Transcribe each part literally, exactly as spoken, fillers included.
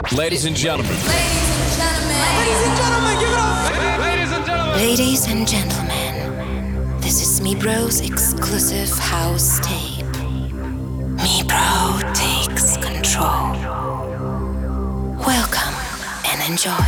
Ladies and gentlemen. Ladies and gentlemen. Ladies and gentlemen, give it up. Ladies and gentlemen. Ladies and gentlemen, this is Me Bro's exclusive house tape. Me Bro takes control. Welcome and enjoy.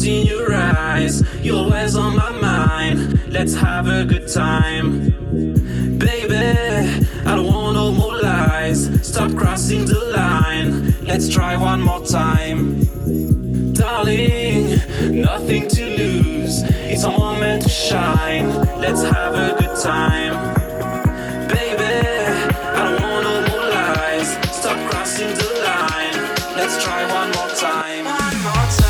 lost in your eyes. You're always on my mind. Let's have a good time. Baby, I don't want no more lies. Stop crossing the line. Let's try one more time. Darling, nothing to lose. It's a moment to shine. Let's have a good time. Baby, I don't want no more lies. Stop crossing the line. Let's try one more time. One more time.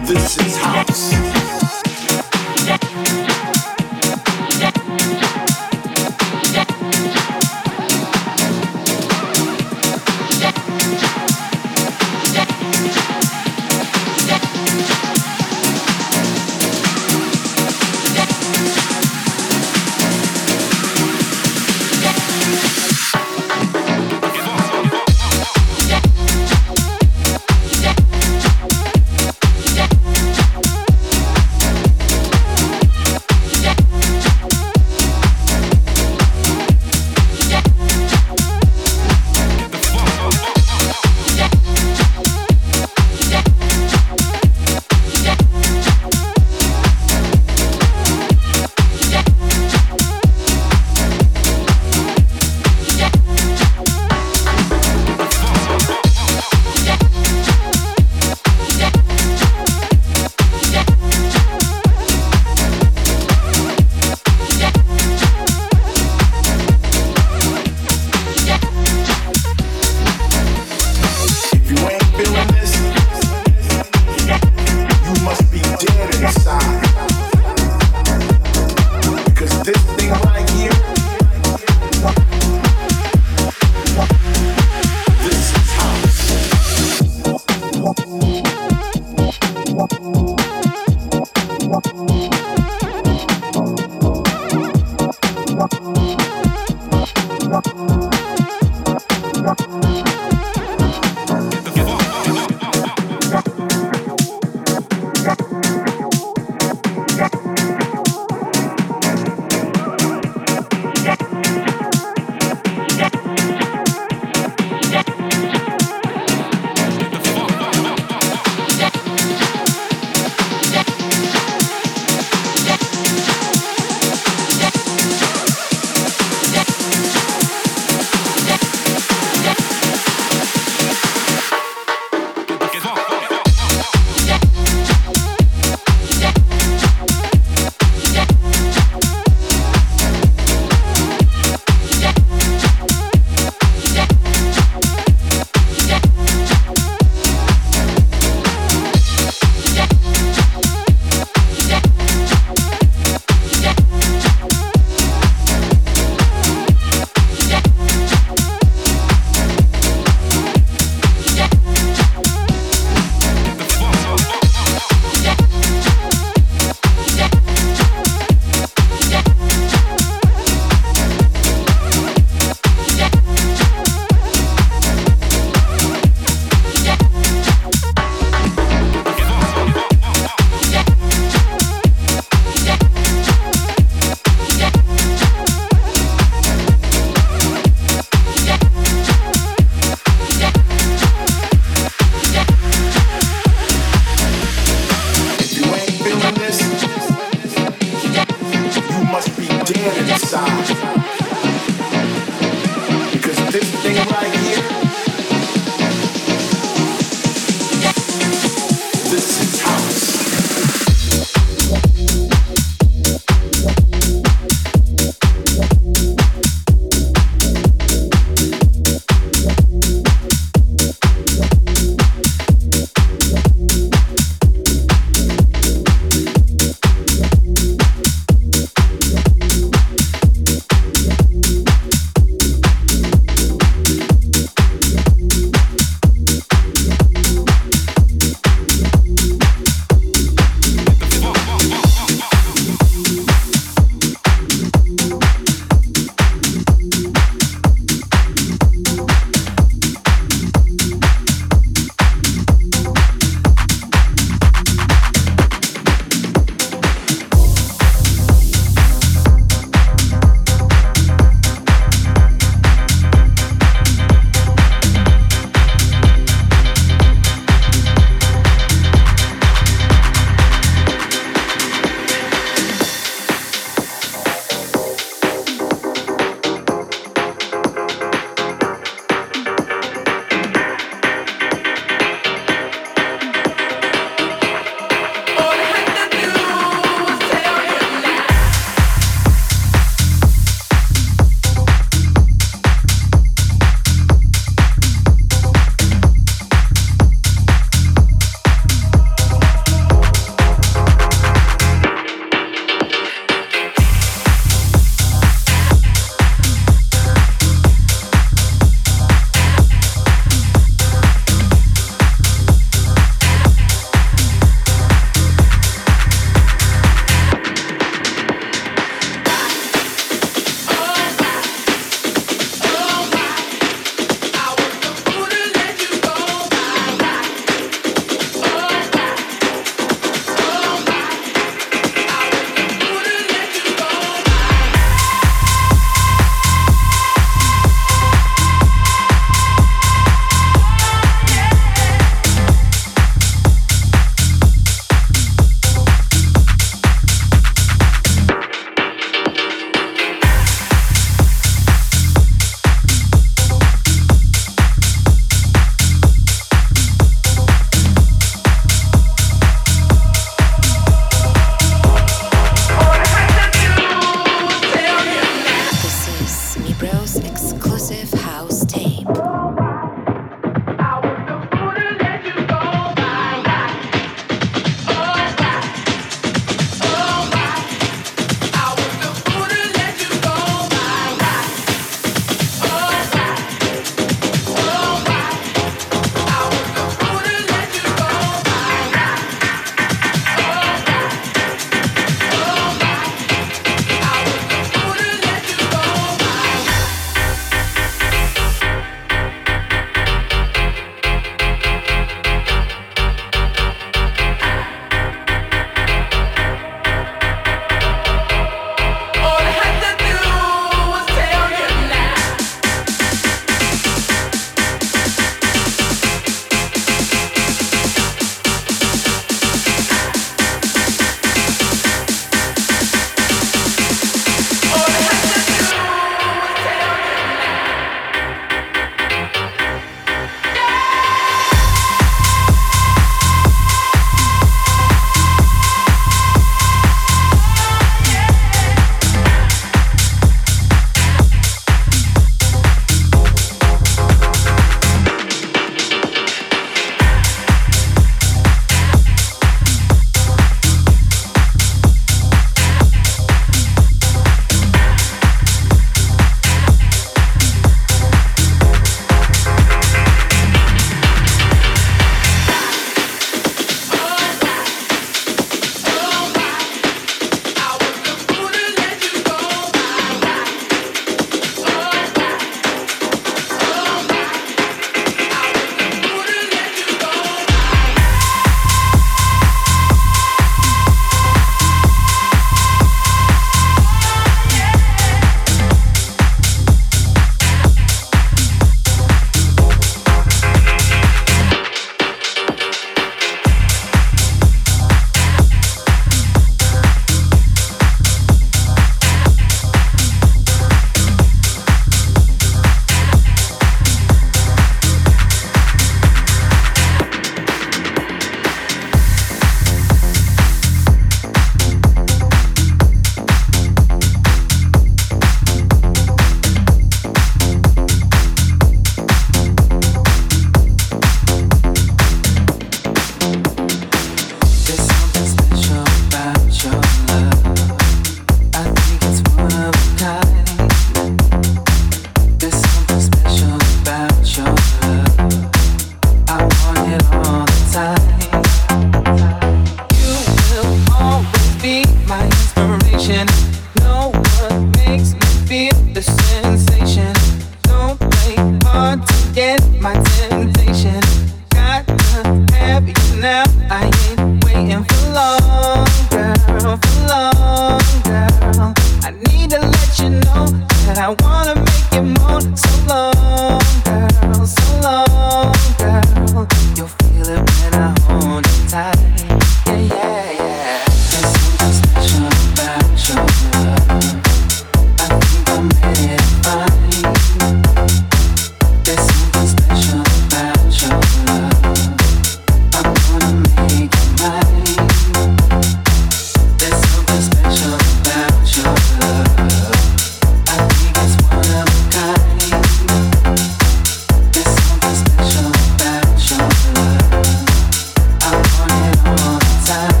No one makes me feel the sensation. Don't play hard to get my temptation. Got to have you now. I ain't waiting for long, girl, for long, girl. I need to let you know that I wanna make you moan. So long, girl, so long, girl. You'll feel it when I hold you tight. Yeah, yeah, yeah. There's something special about your love. I think I'm ready to find. There's something special about your love. I wanna make it mine. There's something special about your love. I think it's one of a kind. There's something special about your love. I want it all the time.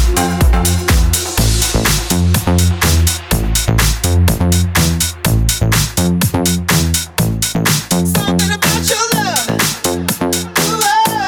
Something about your love. Ooh,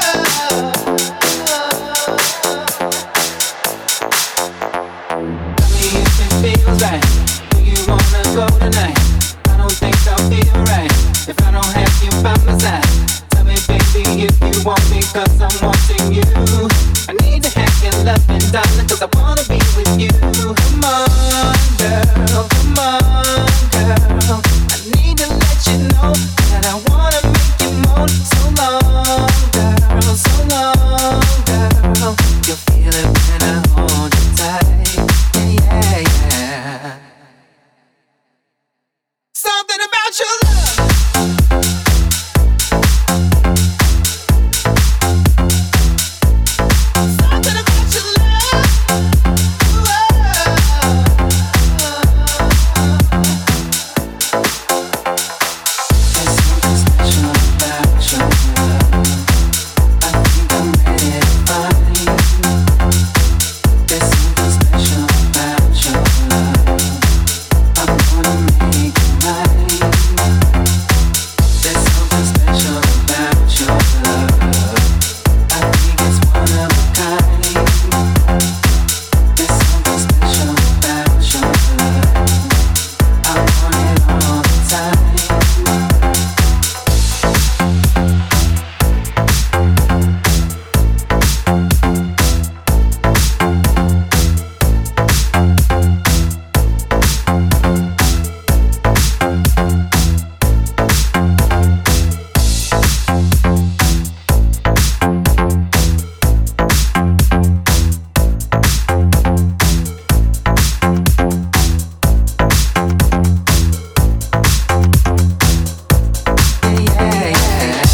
tell me if it feels right. Do you wanna go tonight? I don't think I'll feel right if I don't have you by my side. Tell me, baby, if you want me, cause I'm wanting you. I need to have your loving, darling, cause I wanna be with you. Come on, girl, come on, girl. I need to let you know that I wanna make you moan. So long, girl, so long, girl. You'll feel it when I hold you tight. Yeah, yeah, yeah. Something about your love. Something about your love. There's something special about your love. I think I'm ready to find. There's something special about your love. I wanna make it mine. There's something special about your love. I think it's one of a kind. There's something special about your love. I want it all the time. Yeah, yeah, yeah.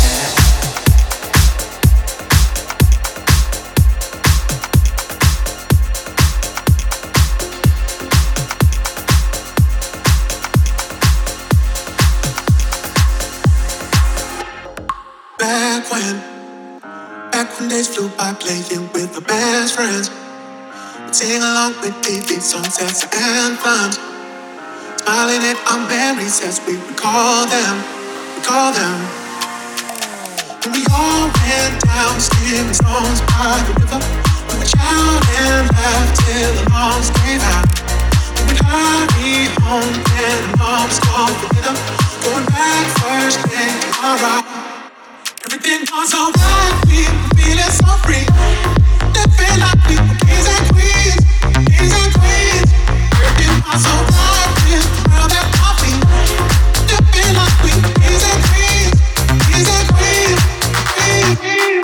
Back when, back when days flew by playing with my best friends. We'd sing along with favorite songs as anthems. Smiling at our memories as we recall them, recall them. When we all went down skipping stones by the river. We would shout and laugh till the alarms gave out. We would hurry home when the moms called for dinner. Going back first thing tomorrow. Everything was so right, we were feeling so free. Living like we were kings and queens, kings and queens. Everything was so right, this world that I feel. Living like we were kings and queens, kings and queens, queens.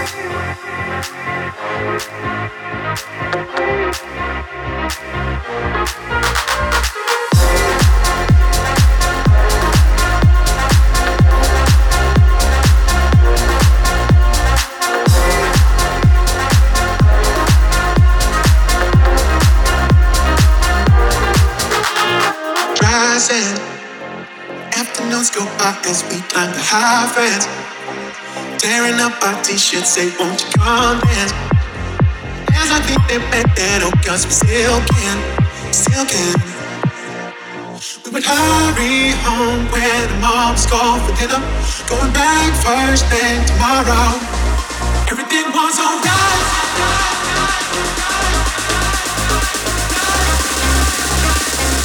Rising, afternoons go by as we climb the high fence. Tearing up our t-shirts, say won't you come dance? As I think they back that oh cause we still can, still can. We would hurry home when the moms called for dinner. Going back first thing tomorrow. Everything was alright.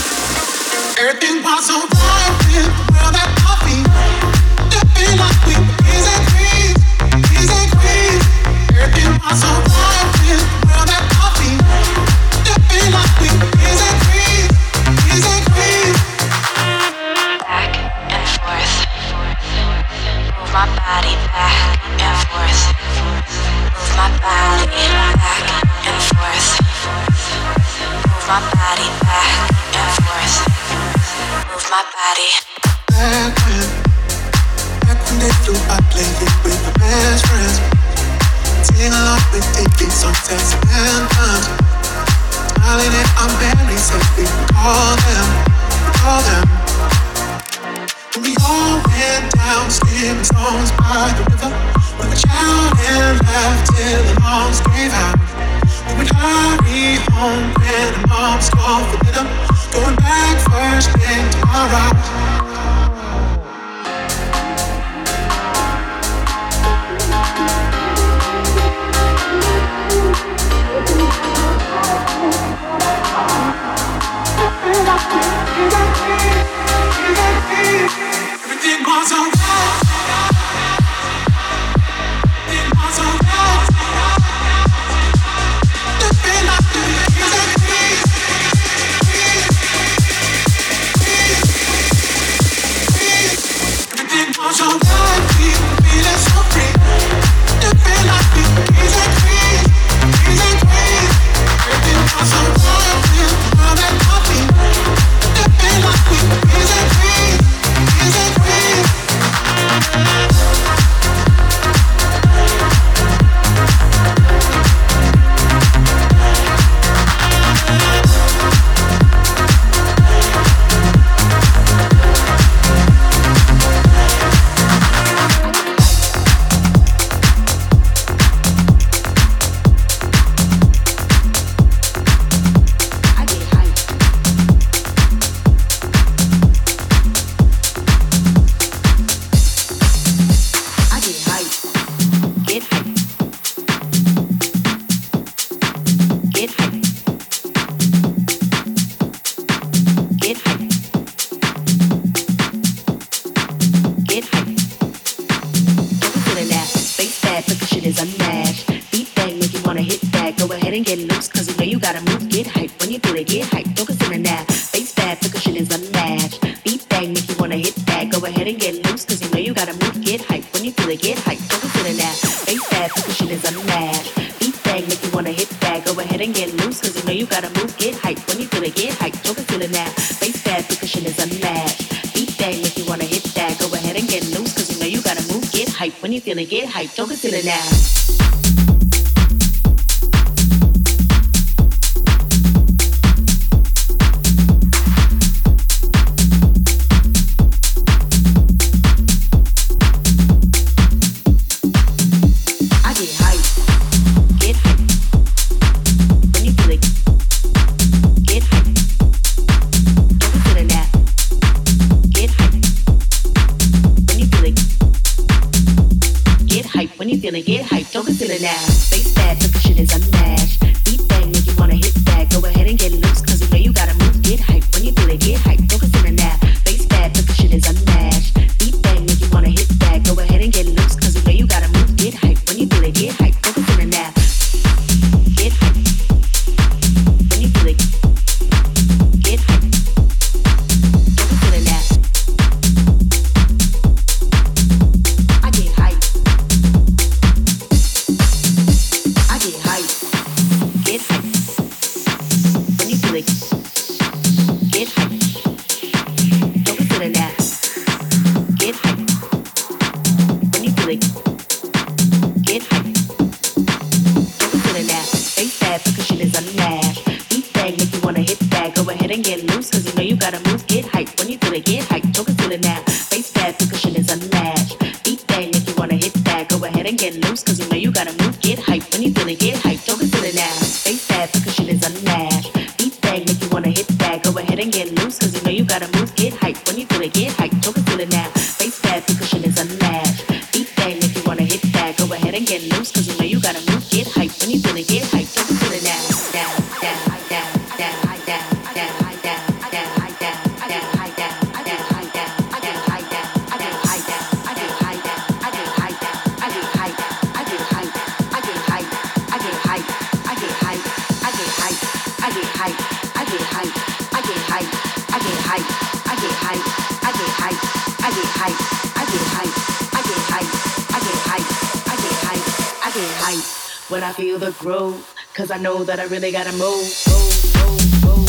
Everything was so right with the world at our feet. Feel like we were kings and queens, kings and queens. Everything was so right with the world at our feet. Feel like we were kings and queens, kings and queens. Back and forth. Move my body back and forth. Move my body back and forth. Move my body back and forth. Move my body. Back when, back when they flew by playing with my best friends. Sing along with taking sunsets and anthems. Smiling at our memories as we recall them, recall them. And we all went down skipping stones by the river. We would shout and laugh till the alarms gave out. We would hurry home when the moms called for dinner. Going back first thing tomorrow. Everything was alright. Everything was alright. Living like the kings and queens. Everything was alright. We were feeling so free. Living like the kings and queens, kings and queens. Everything was alright with the world at our feet. Living like we were kings and queens, kings and queens. When you feeling get hyped, don't consider now. Feeling get hyped, don't consider now. Face bad, but the shit is unmatched. Beat bang, make you wanna hit that. Go ahead and get loose, cause you know you gotta move. Get hyped, when you feel it, get hyped, don't consider now. Face bad, but the shit is unmatched. Beat bang, make you wanna hit that. Go ahead and get loose, cause you know you gotta move. Get hyped, when you feel it, get hyped, don't consider now. Get hyped, when you feel it. Get hyped, don't consider now. I get hyped. Get hyped. When you feel it, get hyped. Don't consider that. Get hyped. When you feel it, get hyped. Don't consider that. Face bad, percussion is unmatched. Beat bang, make you wanna hit that. Go ahead and get loose, cause you know you gotta move. Get hyped. When you feel it, get hyped. Don't consider that. Face bad, percussion is unmatched. Beat bang, make you wanna hit that. Go ahead and get loose, cause you know you gotta move. Get hyped. When you feel it, get hyped. Don't consider that. Face bad, percussion is unmatched. Beat bang, make you wanna hit that. Go ahead and get loose, cause you know you gotta move. Get hyped. When you feel it, get hyped. Don't consider that. Face bad, percussion is unmatched. Beat bang, make you wanna hit that. Go ahead and get loose, cause you know you gotta move. Get hyped. When you feel it, get hyped. Don't consider that. Down, down, down, down, down, down, down, down, down, down, down. hype, I get hype, I get hype, I get hype, I get hype, I get hype, I get hype, I get hype, I get hype. When I feel the groove, cause I know that I really gotta move, move, move, move.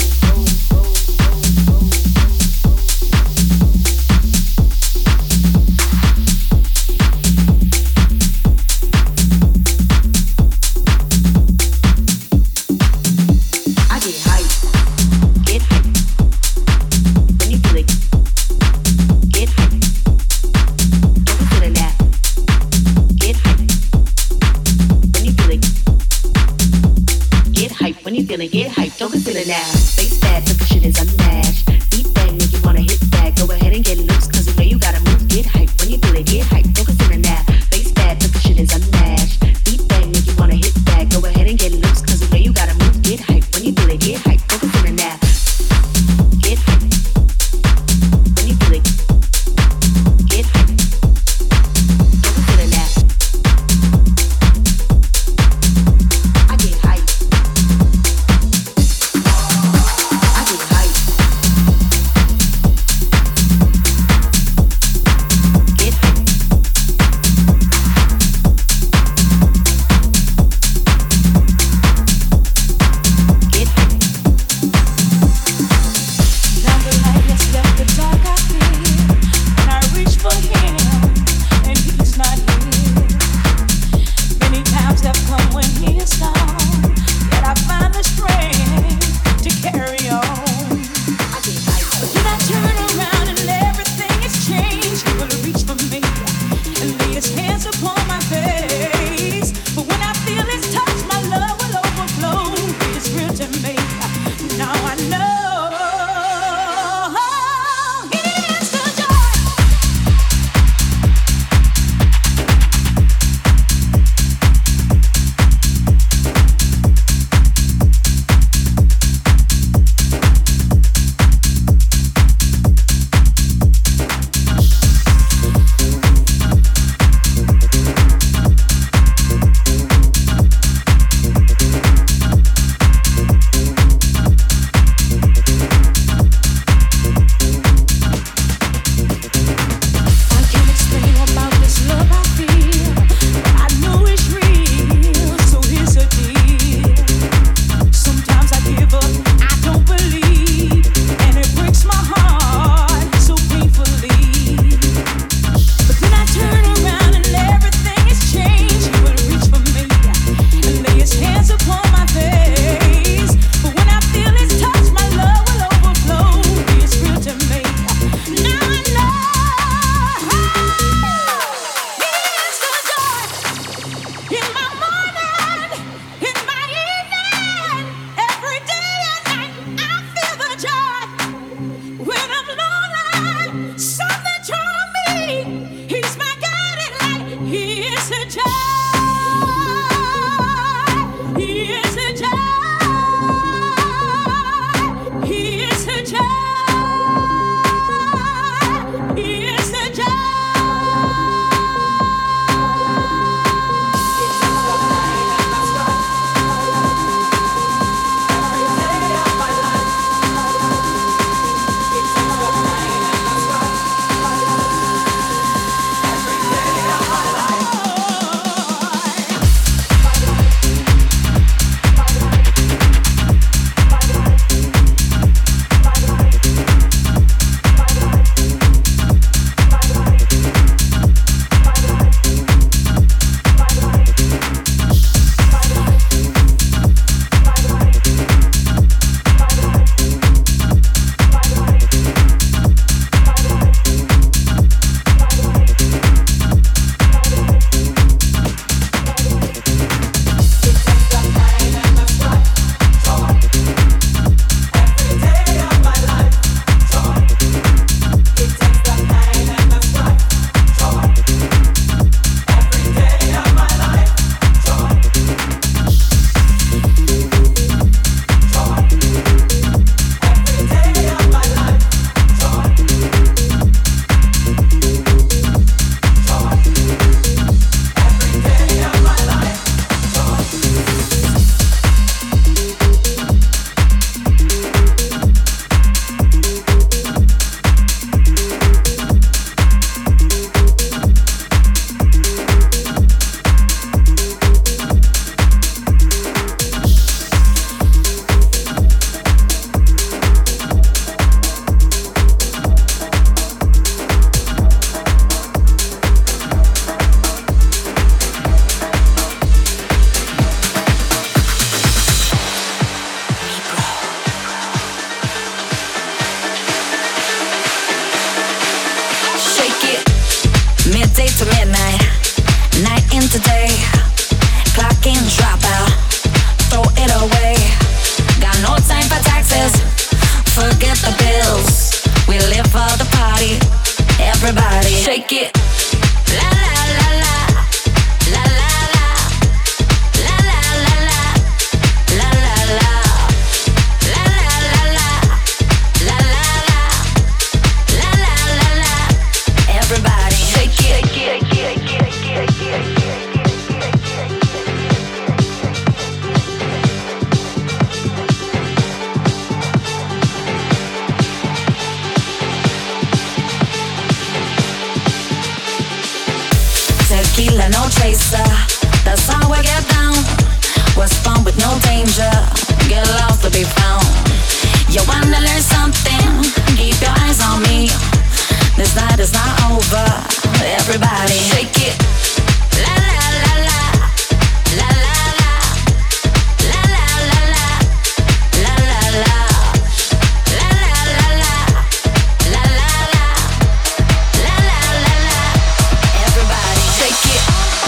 When you feeling, get hyped, don't consider now. Stay day to midnight, night into day. Clock in, drop out, throw it away. Got no time for taxes, forget the bills. We live for the party, everybody shake it. La la la la, la la la, la la la la, la la la, la la la la, la la la, la la la la. Everybody shake it, shake it, shake it, shake it, shake it. Tequila, no chaser, that's how we get down. What's fun with no danger, get lost to be found. You wanna learn something, keep your eyes on me. This night is not over, everybody shake it. La la la la, la la la, la la la la, la la la, la la la la, la la la, la la la la. Everybody shake it.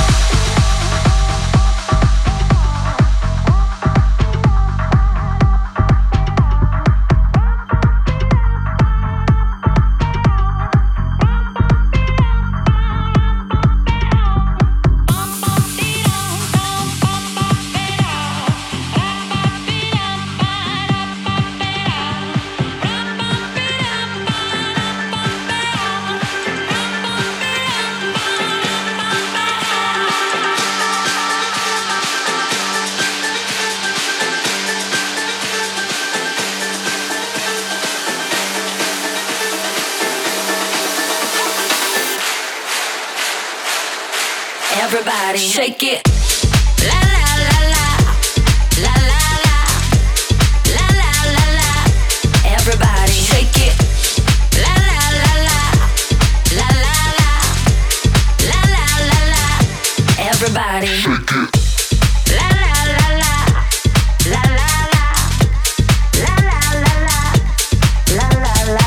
Everybody shake it. La la la la, la la la, la la la la. Everybody shake it. La la la la, la la la, la la la la. Everybody shake it. La la la la, la la la, la la la la, la la la.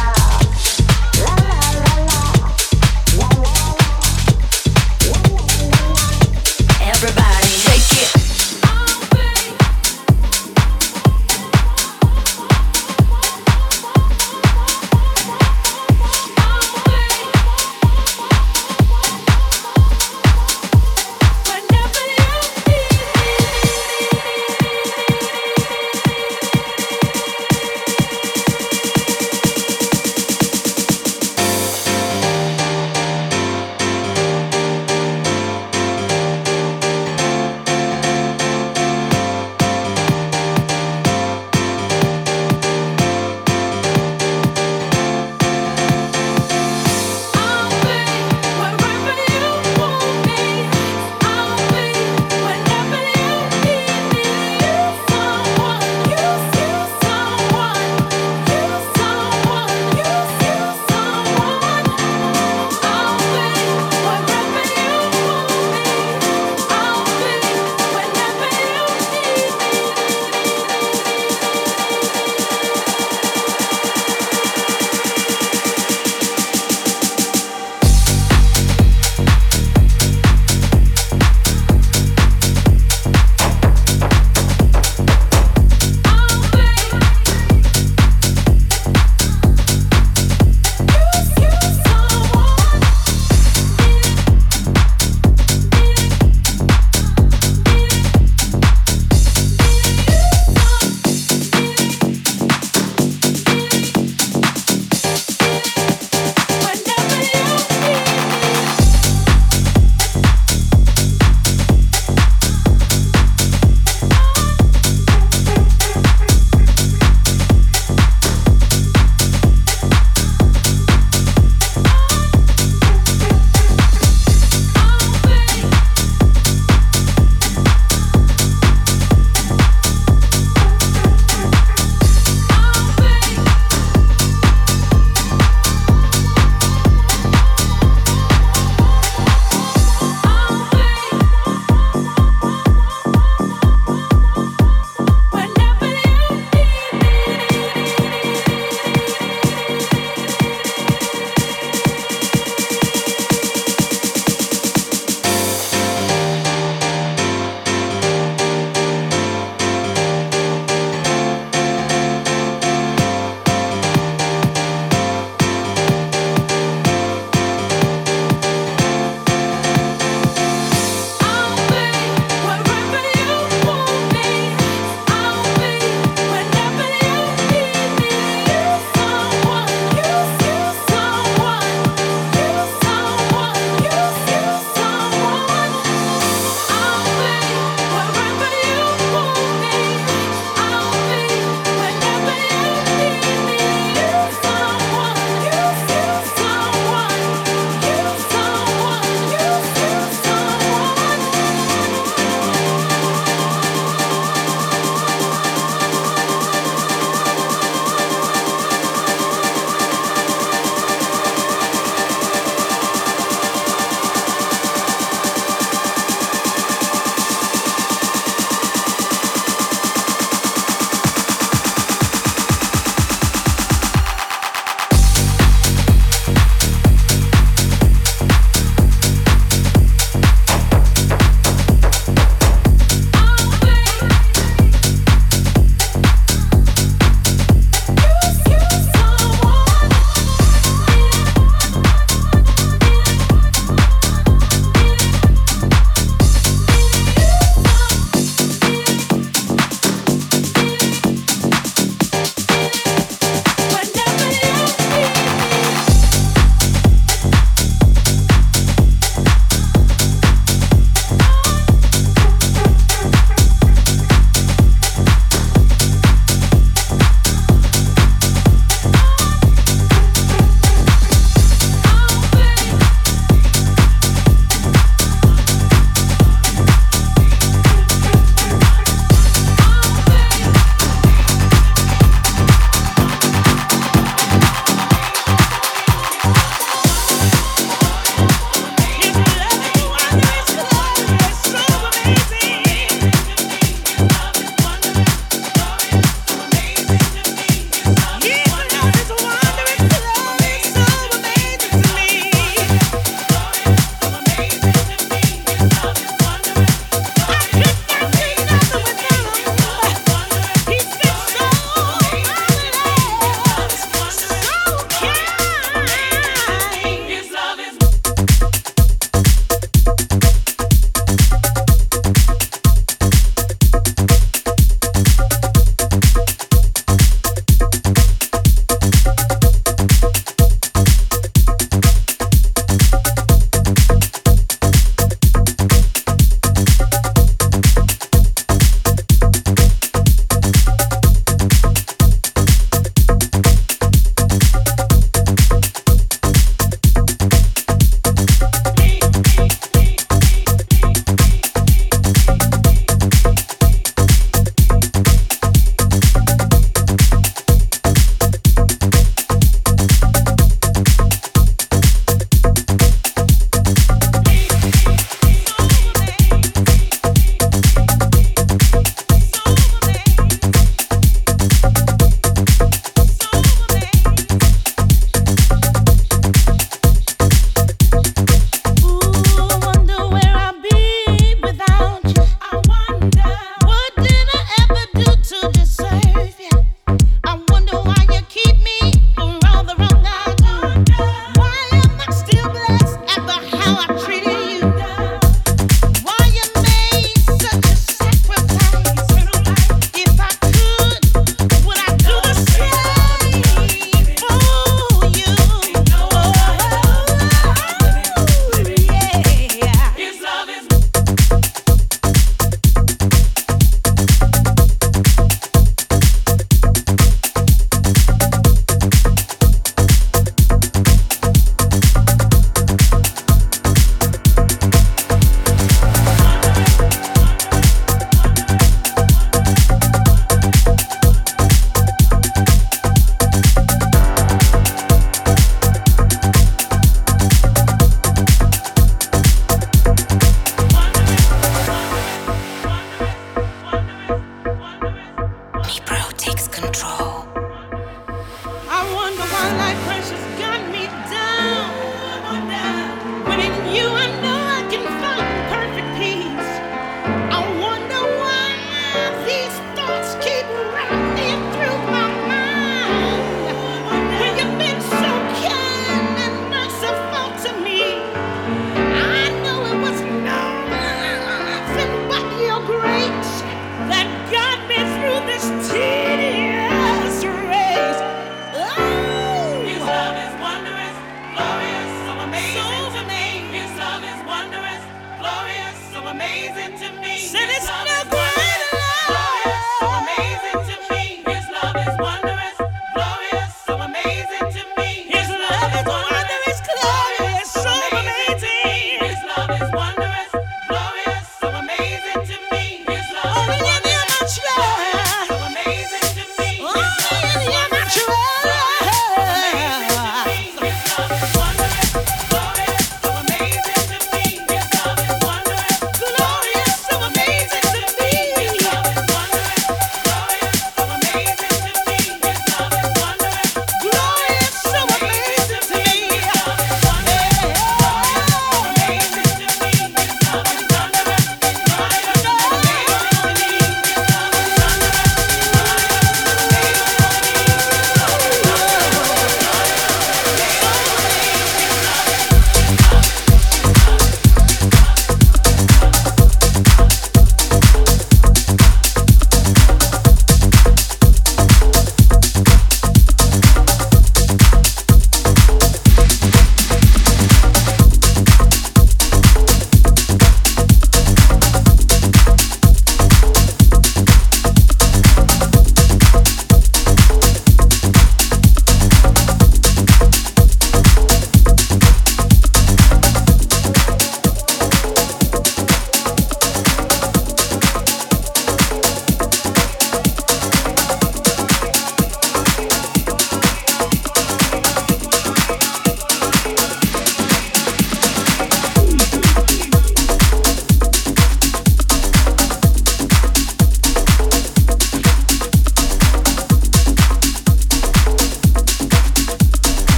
Everybody shake it.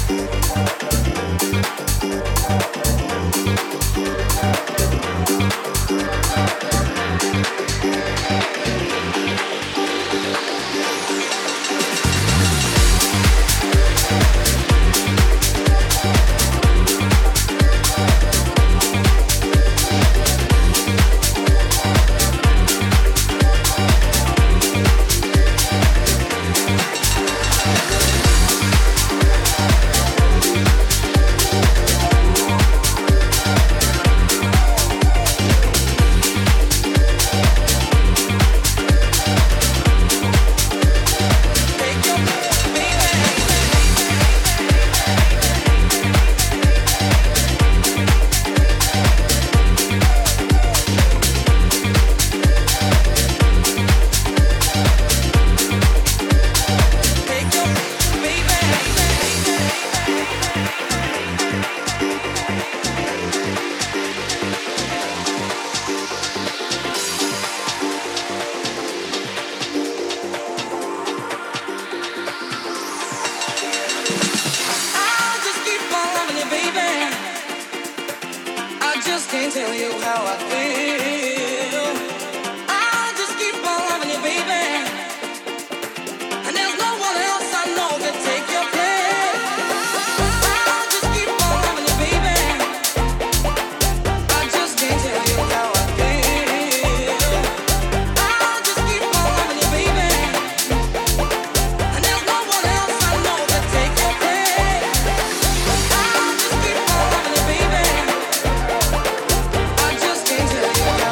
Can't tell you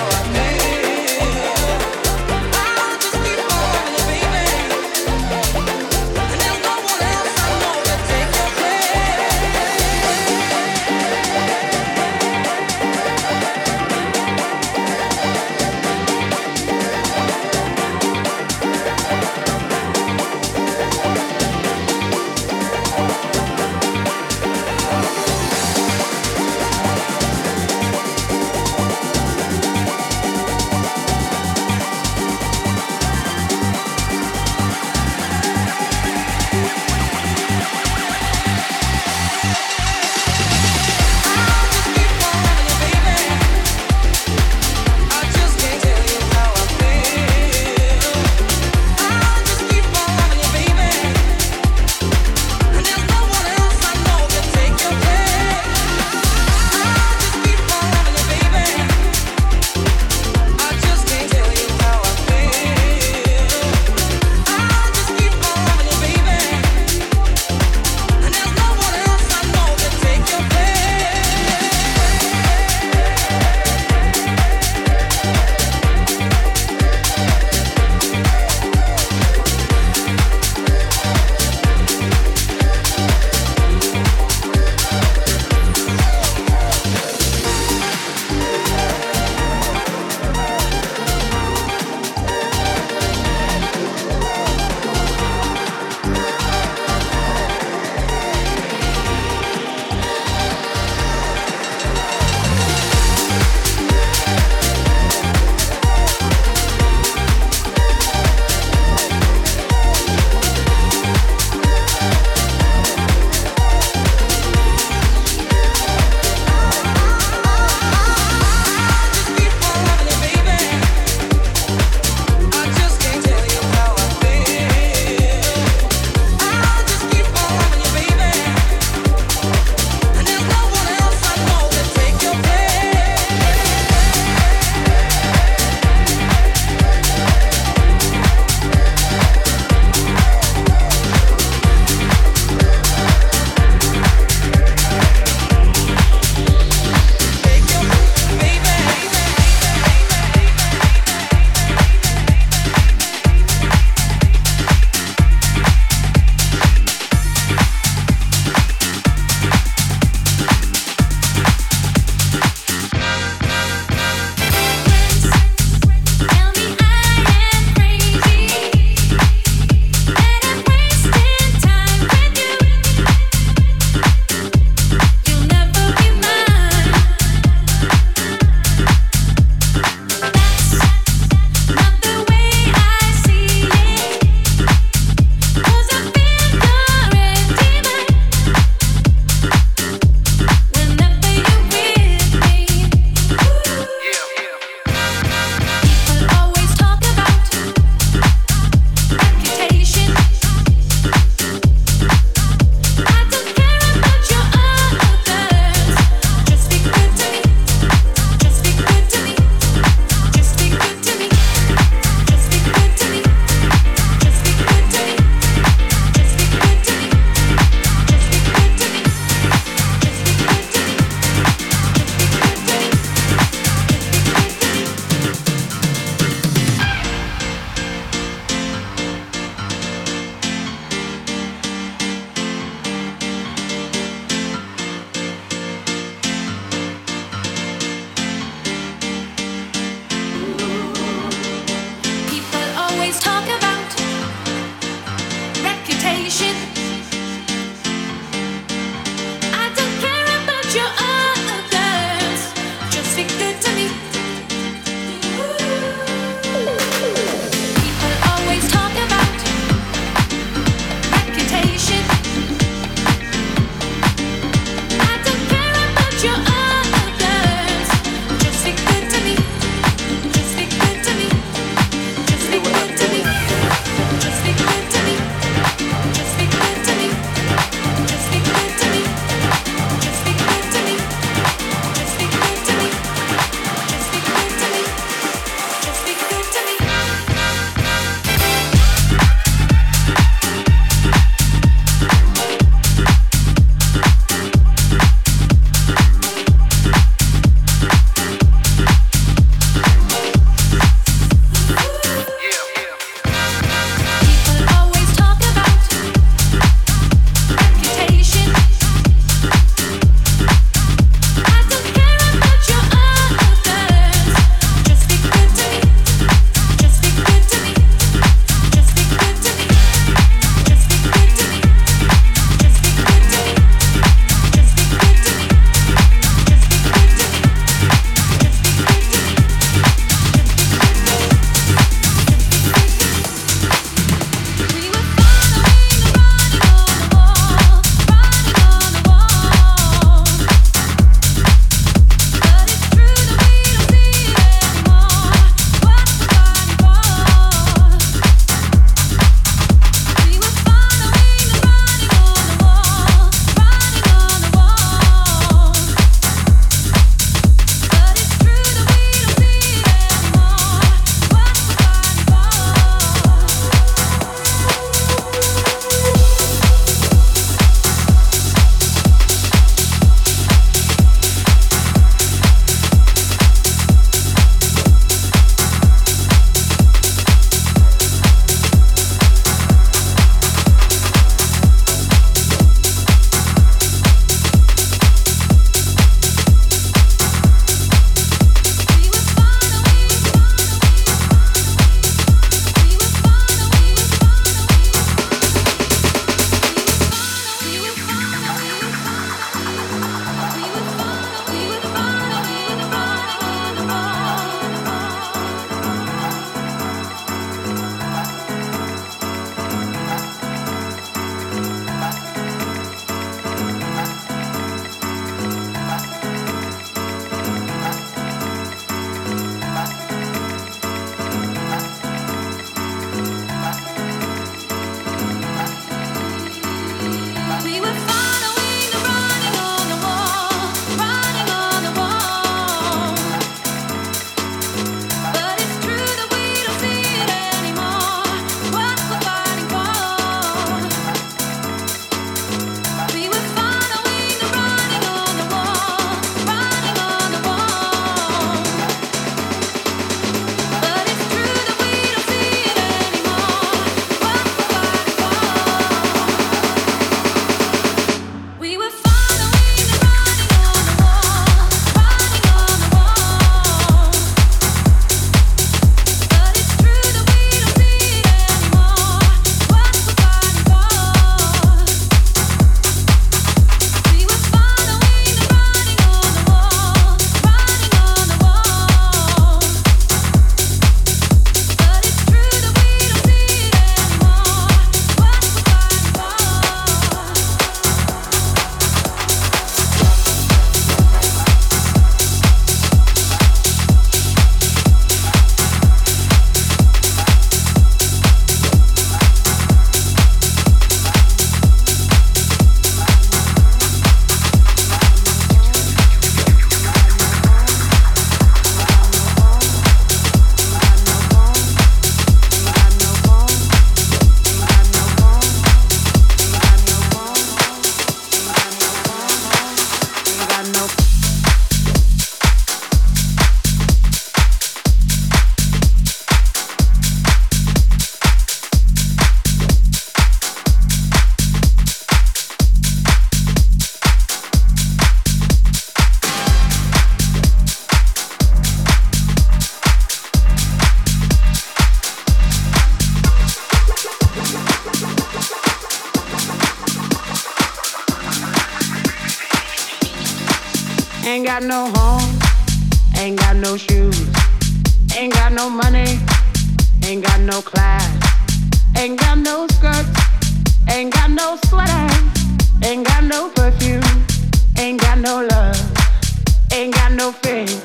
Ain't got no home, ain't got no shoes, ain't got no money, ain't got no class, ain't got no skirts, ain't got no sweater, ain't got no perfume, ain't got no love, ain't got no faith.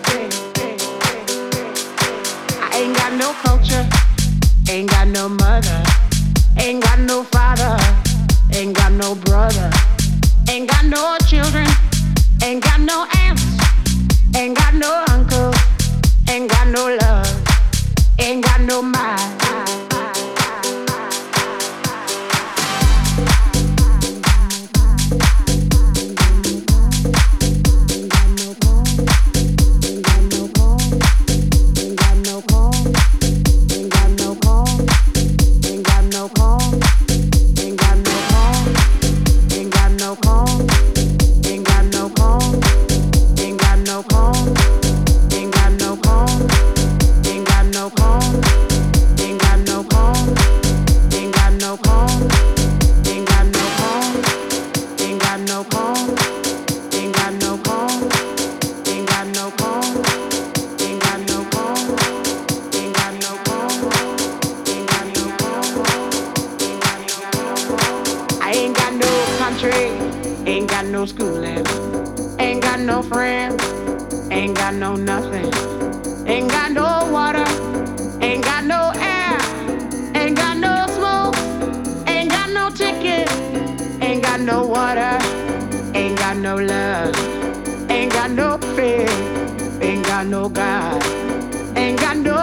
I ain't got no culture, ain't got no mother, ain't got no father, ain't got no brother, ain't got no children, ain't got no aunts, ain't got no uncle, ain't got no love, ain't got no mind. Ain't got no schooling, ain't got no friends, ain't got no nothing, ain't got no water, ain't got no air, ain't got no smoke, ain't got no ticket, ain't got no water, ain't got no love, ain't got no faith, ain't got no God, ain't got no